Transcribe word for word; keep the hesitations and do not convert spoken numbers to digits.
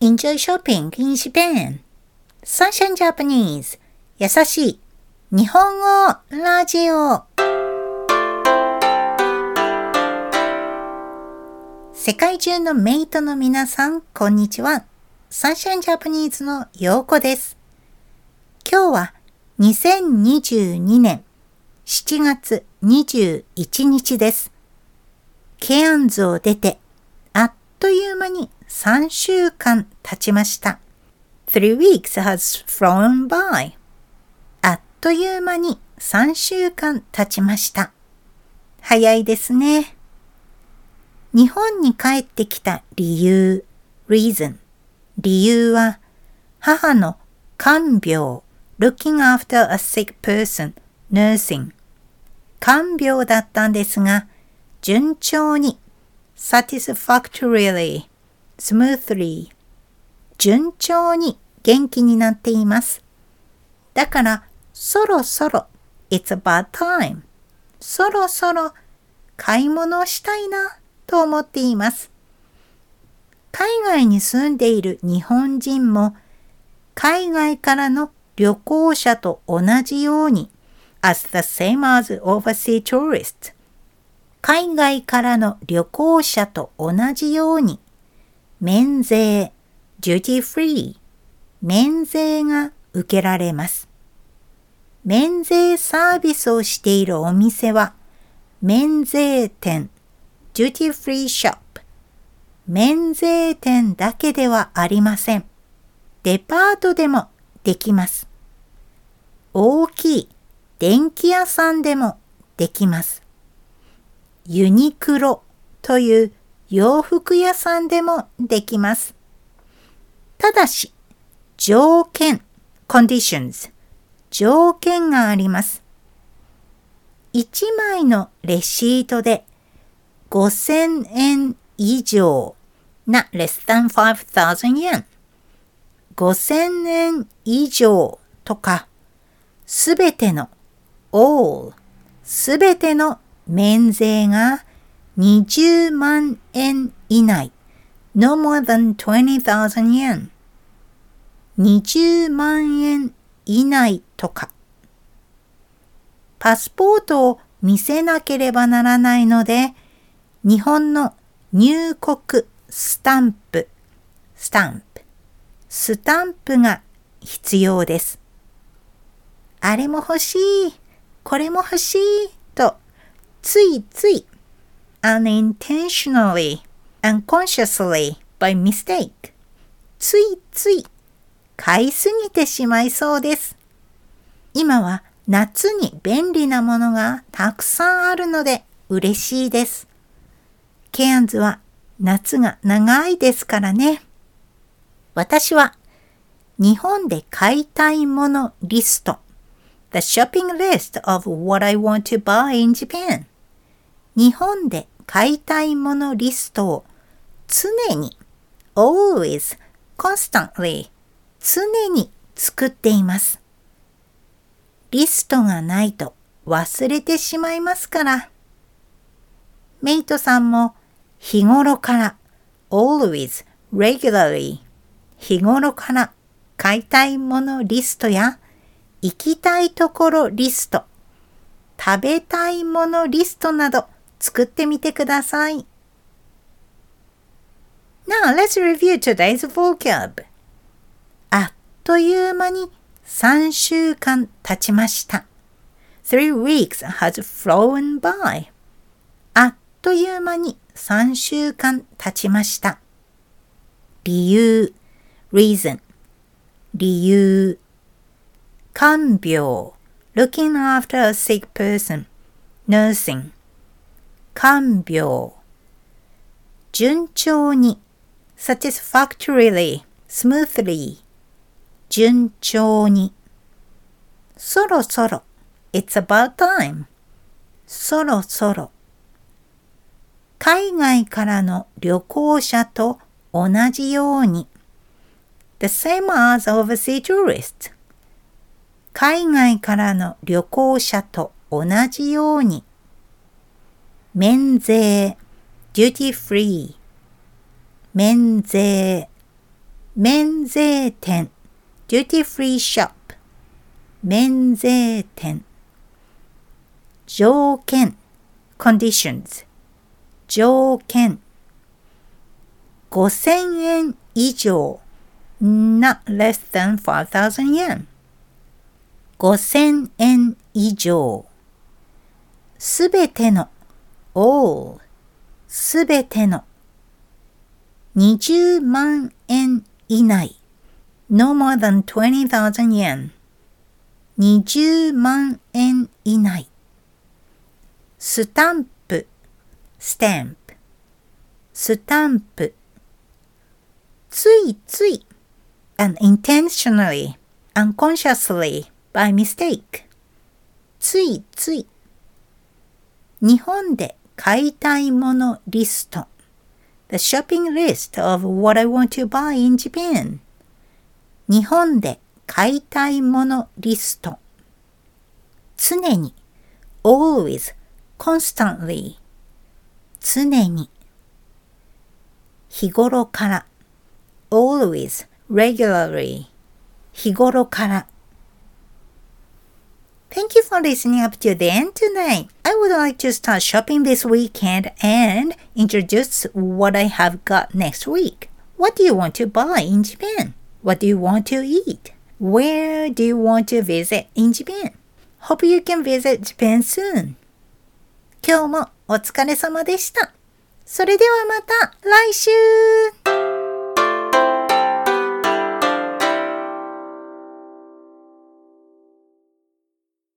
Enjoy shopping in Japan. Sunshine Japanese. 優しい日本語ラジオ。世界中のメイトの皆さん、こんにちは。Sunshine Japanese のようこです。今日はにせんにじゅうにねんしちがつにじゅういちにちです。ケアンズを出てあっという間にさんしゅうかん経ちました。Three weeks has flown by. あっという間にさんしゅうかん経ちました。早いですね。日本に帰ってきた理由、reason。理由は、母の看病、looking after a sick person, nursing。看病だったんですが、順調に、satisfactorily、smoothly、順調に元気になっています。だから、そろそろ、it's about time。そろそろ、買い物をしたいな、と思っています。海外に住んでいる日本人も、海外からの旅行者と同じように、as the same as overseas tourists。海外からの旅行者と同じように、免税、duty free、免税が受けられます。免税サービスをしているお店は、免税店、duty free shop、免税店だけではありません。デパートでもできます。大きい電気屋さんでもできます。ユニクロという洋服屋さんでもできます。ただし、条件、conditions、条件があります。いちまいのレシートでごせんえん以上、not less than five thousand yen。ごせんえん以上とか、すべての all、すべての免税がにじゅうまんえん以内、no more than twenty thousand yen。にじゅうまんえん以内とか。パスポートを見せなければならないので、日本の入国スタンプ、スタンプ、スタンプが必要です。あれも欲しい、これも欲しいと、ついつい unintentionally, unconsciously, by mistake ついつい買いすぎてしまいそうです。今は夏に便利なものがたくさんあるので嬉しいです。ケアンズは夏が長いですからね。私は日本で買いたいものリスト、The shopping list of what I want to buy in Japan。日本で買いたいものリストを常に、always, constantly、常に作っています。リストがないと忘れてしまいますから。メイトさんも日頃から、always, regularly、日頃から買いたいものリストや行きたいところリスト、食べたいものリストなど作ってみてください。Now let's review today's vocab. あっという間にさんしゅうかん経ちました。Three weeks has flown by. あっという間にさんしゅうかん経ちました。理由、reason、理由。看病、looking after a sick person, nursing。看病。順調に、satisfactorily, smoothly。順調に。そろそろ、it's about time。そろそろ。海外からの旅行者と同じように。The same as overseas tourists。海外からの旅行者と同じように。免税、duty free。免税。 免税店 duty free shop 免税店条件 conditions 条件ごせんえん以上 not less than five thousand yen ごせんえん以上すべての all すべてのにじゅうまんえん以内 no more than twenty thousand yen にじゅうまんえん以内スタンプ stamp スタンプついつい unintentionally unconsciously by mistake ついつい日本で買いたいものリスト The shopping list of what I want to buy in Japan 日本で買いたいものリスト常に always constantly 常に日頃から always regularly 日頃から Thank you for listening up to the end tonight. I would like to start shopping this weekend and introduce what I have got next week. What do you want to buy in Japan? What do you want to eat? Where do you want to visit in Japan? Hope you can visit Japan soon. 今日もお疲れ様でした。それではまた来週